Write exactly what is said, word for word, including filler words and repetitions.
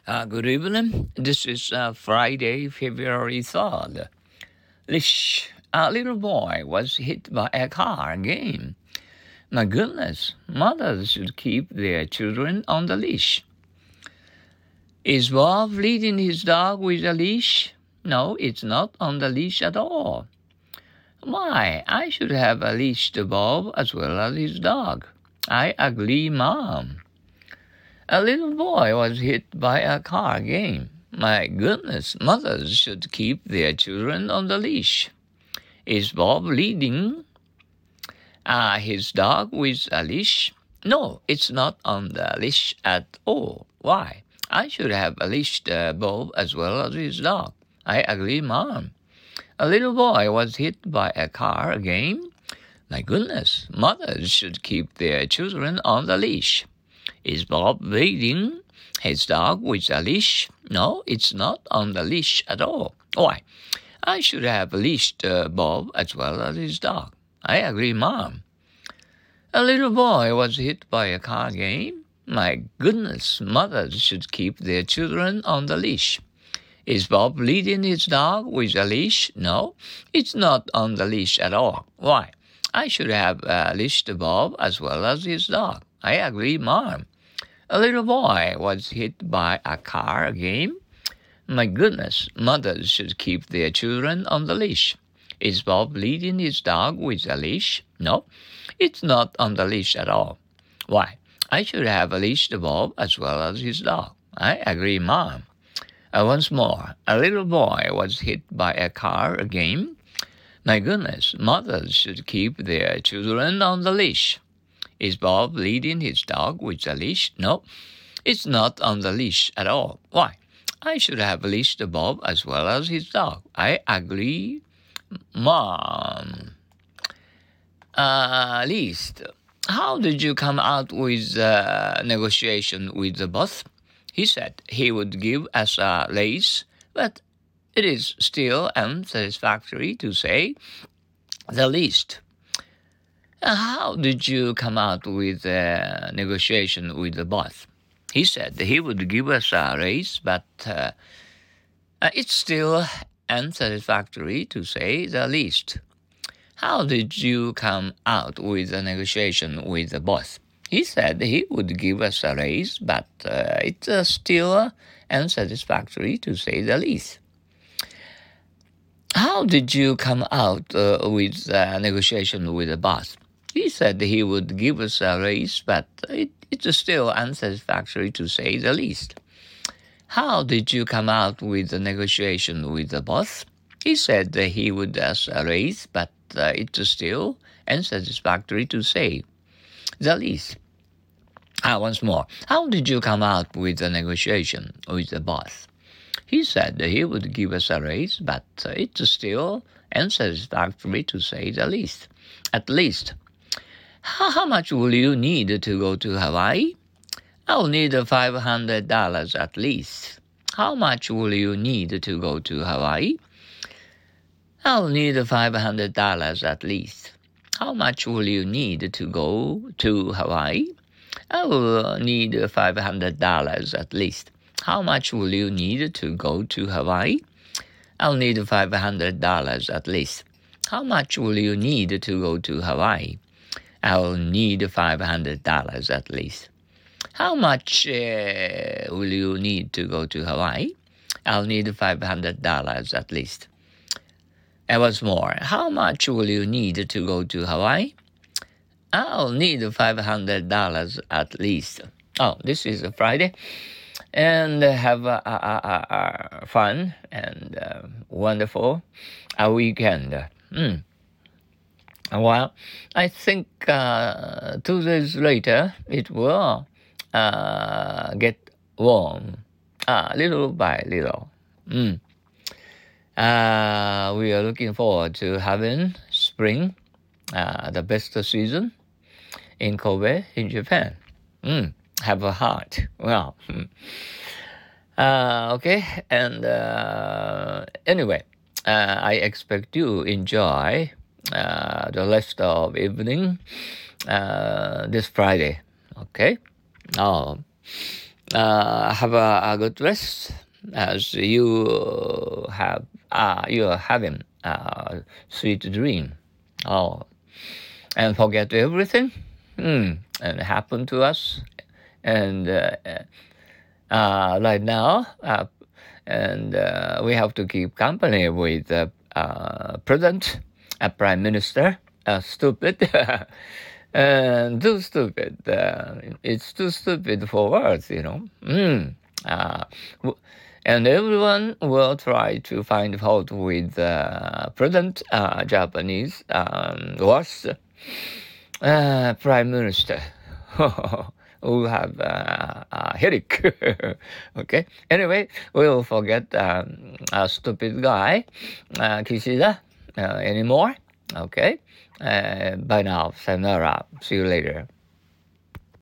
Uh, good evening. This is uh, Friday, February third. Lish, a little boy was hit by a car again. My goodness, mothers should keep their children on the leash. Is Bob leading his dog with a leash? No, it's not on the leash at all. Why, I should have a leash to Bob as well as his dog. I agree, Mom. A little boy was hit by a car again. My goodness, mothers should keep their children on the leash. Is Bob leading uh, his dog with a leash? No, it's not on the leash at all. Why? I should have a leash to Bob as well as his dog. I agree, Mom. A little boy was hit by a car again. My goodness, mothers should keep their children on the leash. Is Bob leading his dog with a leash? No, it's not on the leash at all. Why? I should have leashed uh, Bob as well as his dog. I agree, Mom. A little boy was hit by a car again. My goodness, mothers should keep their children on the leash. Is Bob leading his dog with a leash? No, it's not on the leash at all. Why? I should have uh, leashed Bob as well as his dog. I agree, Mom. A little boy was hit by a car again. My goodness, mothers should keep their children on the leash. Is Bob leading his dog with a leash? No, it's not on the leash at all. Why? I should have leashed Bob as well as his dog. I agree, Mom. Uh, once more, a little boy was hit by a car again. My goodness, mothers should keep their children on the leash. Is Bob leading his dog with a leash? No, it's not on the leash at all. Why? I should have leashed Bob as well as his dog. I agree, Mom. Uh, least, how did you come out with uh, negotiation with the boss? He said he would give us a raise, but it is still unsatisfactory to say the least. How did you come out with a negotiation with the boss? He said he would give us a raise, but uh, it's still unsatisfactory to say the least. How did you come out with a negotiation with the boss? He said he would give us a raise, but uh, it's uh, still unsatisfactory to say the least. How did you come out uh, with a negotiation with the boss? He said he would give us a raise, but it, it's still unsatisfactory to say the least. How did you come out with a negotiation with the boss? He said that he would ask a raise, but uh, it's still unsatisfactory to say the least. Ah, once more. How did you come out with a negotiation with the boss? He said that he would give us a raise, but uh, it's still unsatisfactory to say the least. At least. How, how much will you need to go to Hawaii? I'll need five hundred dollars at least. How much will you need to go to Hawaii? I'll need five hundred dollars at least. How much will you need to go to Hawaii? I will need five hundred dollars at least. How much will you need to go to Hawaii? I'll need five hundred dollars at least. How much will you need to go to Hawaii? I'll need five hundred dollars at least. How much uh, will you need to go to Hawaii? I'll need five hundred dollars at least. And once more, how much will you need to go to Hawaii? I'll need five hundred dollars at least. Oh, this is a Friday. And have a, a, a, a fun and uh, wonderful a weekend. Mm. Well, I think uh, two days later it will uh, get warm, uh, little by little. Mm. Uh, we are looking forward to having spring, uh, the best season in Kobe, in Japan. Mm. Have a heart. Well, uh, okay. And uh, anyway, uh, I expect you enjoy uh, the rest of evening uh, this Friday. Okay. Oh, uh, have a, a good rest as you have uh, you are having a sweet dream. Oh, and forget everything mm, and happened to us. And uh, uh, right now, uh, and uh, we have to keep company with the uh, president, a prime minister, uh, stupid, and too stupid. Uh, it's too stupid for words, you know. Mm. Uh, and everyone will try to find fault with uh, present uh, Japanese um, worst uh, prime minister who have uh, a headache. Okay. Anyway, we'll forget um, a stupid guy, uh, Kishida, uh, anymore. Okay. Uh, bye now. Sayonara. See you later.